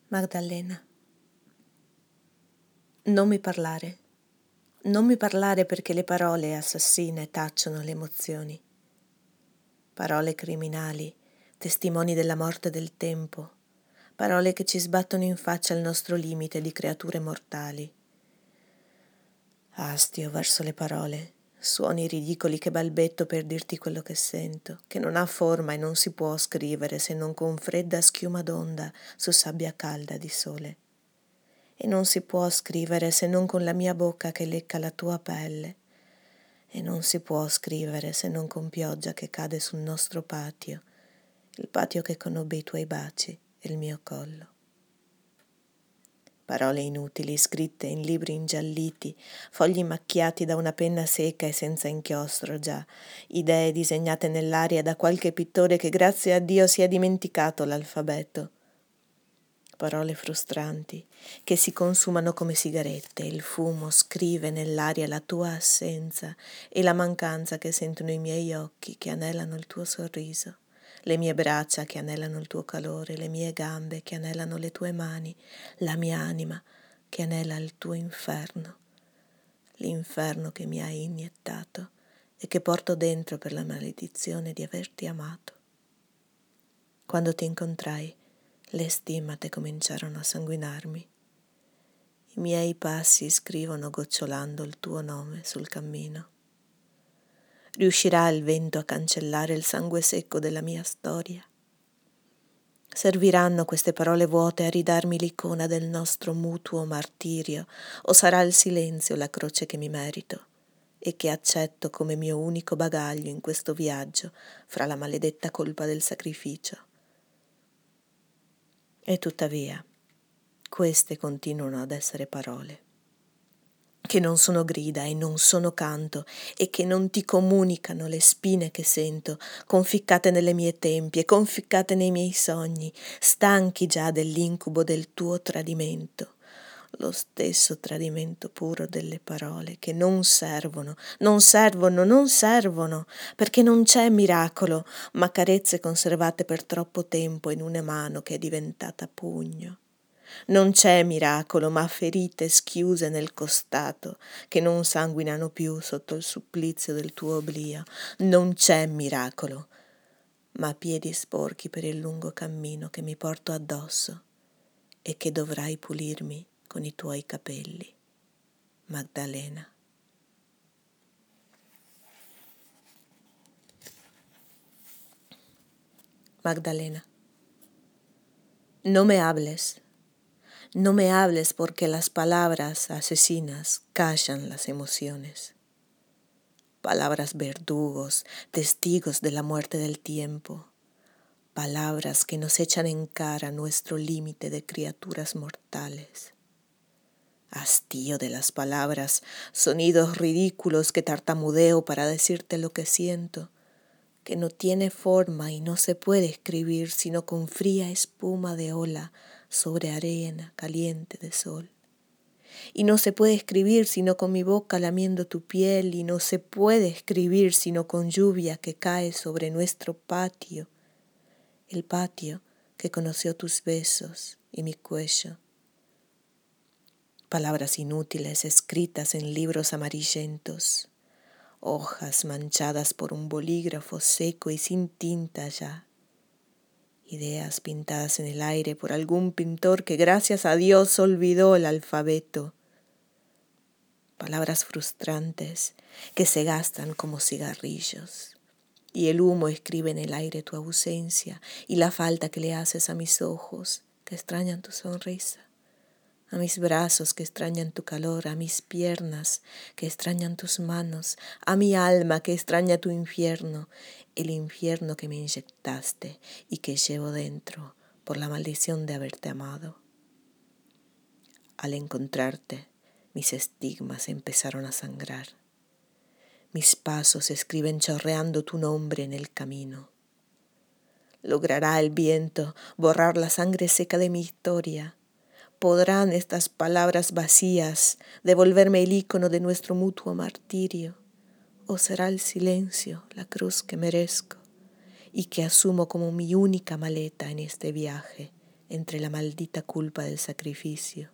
Magdalena, non mi parlare perché le parole assassine tacciono le emozioni. Parole criminali, testimoni della morte del tempo, parole che ci sbattono in faccia il nostro limite di creature mortali. Astio verso le parole, suoni ridicoli che balbetto per dirti quello che sento, che non ha forma e non si può scrivere se non con fredda schiuma d'onda su sabbia calda di sole. E non si può scrivere se non con la mia bocca che lecca la tua pelle. E non si può scrivere se non con pioggia che cade sul nostro patio, il patio che conobbe i tuoi baci e il mio collo. Parole inutili, scritte in libri ingialliti, fogli macchiati da una penna secca e senza inchiostro già, idee disegnate nell'aria da qualche pittore che grazie a Dio si è dimenticato l'alfabeto. Parole frustranti che si consumano come sigarette, il fumo scrive nell'aria la tua assenza e la mancanza che sentono i miei occhi che anelano il tuo sorriso, le mie braccia che anelano il tuo calore, le mie gambe che anelano le tue mani, la mia anima che anela il tuo inferno, l'inferno che mi hai iniettato e che porto dentro per la maledizione di averti amato. Quando ti incontrai, le stimmate cominciarono a sanguinarmi. I miei passi scrivono gocciolando il tuo nome sul cammino. Riuscirà il vento a cancellare il sangue secco della mia storia? Serviranno queste parole vuote a ridarmi l'icona del nostro mutuo martirio, o sarà il silenzio la croce che mi merito e che accetto come mio unico bagaglio in questo viaggio fra la maledetta colpa del sacrificio? E tuttavia, queste continuano ad essere parole, che non sono grida e non sono canto e che non ti comunicano le spine che sento, conficcate nelle mie tempie, conficcate nei miei sogni, stanchi già dell'incubo del tuo tradimento, lo stesso tradimento puro delle parole che non servono, perché non c'è miracolo, ma carezze conservate per troppo tempo in una mano che è diventata pugno. Non c'è miracolo, ma ferite schiuse nel costato, che non sanguinano più sotto il supplizio del tuo oblio. Non c'è miracolo, ma piedi sporchi per il lungo cammino che mi porto addosso e che dovrai pulirmi con i tuoi capelli. Magdalena. Magdalena. No me hables. No me hables porque las palabras asesinas callan las emociones. Palabras verdugos, testigos de la muerte del tiempo. Palabras que nos echan en cara nuestro límite de criaturas mortales. Hastío de las palabras, sonidos ridículos que tartamudeo para decirte lo que siento, que no tiene forma y no se puede escribir sino con fría espuma de ola sobre arena caliente de sol. Y no se puede escribir sino con mi boca lamiendo tu piel, y no se puede escribir sino con lluvia que cae sobre nuestro patio, el patio que conoció tus besos y mi cuello. Palabras inútiles escritas en libros amarillentos, hojas manchadas por un bolígrafo seco y sin tinta ya. Ideas pintadas en el aire por algún pintor que gracias a Dios olvidó el alfabeto. Palabras frustrantes que se gastan como cigarrillos. Y el humo escribe en el aire tu ausencia y la falta que le haces a mis ojos que extrañan tu sonrisa, a mis brazos que extrañan tu calor, a mis piernas que extrañan tus manos, a mi alma que extraña tu infierno, el infierno que me inyectaste y que llevo dentro por la maldición de haberte amado. Al encontrarte, mis estigmas empezaron a sangrar. Mis pasos escriben chorreando tu nombre en el camino. ¿Logrará el viento borrar la sangre seca de mi historia? ¿Podrán estas palabras vacías devolverme el ícono de nuestro mutuo martirio? ¿O será el silencio la cruz que merezco y que asumo como mi única maleta en este viaje entre la maldita culpa del sacrificio.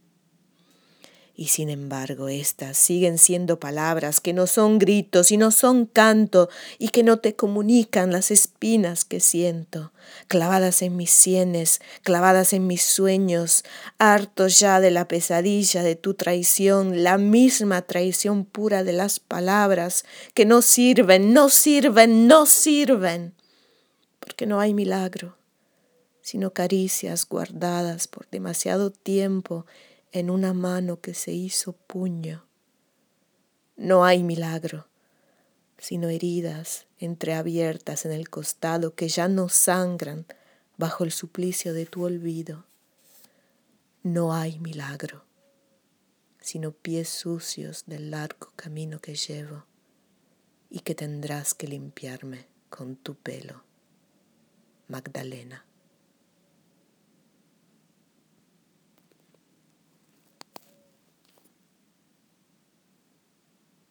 Y sin embargo, estas siguen siendo palabras que no son gritos y no son canto y que no te comunican las espinas que siento, clavadas en mis sienes, clavadas en mis sueños, hartos ya de la pesadilla de tu traición, la misma traición pura de las palabras que no sirven, no sirven, no sirven, porque no hay milagro, sino caricias guardadas por demasiado tiempo en una mano que se hizo puño. No hay milagro, sino heridas entreabiertas en el costado que ya no sangran bajo el suplicio de tu olvido. No hay milagro, sino pies sucios del largo camino que llevo y que tendrás que limpiarme con tu pelo. Magdalena.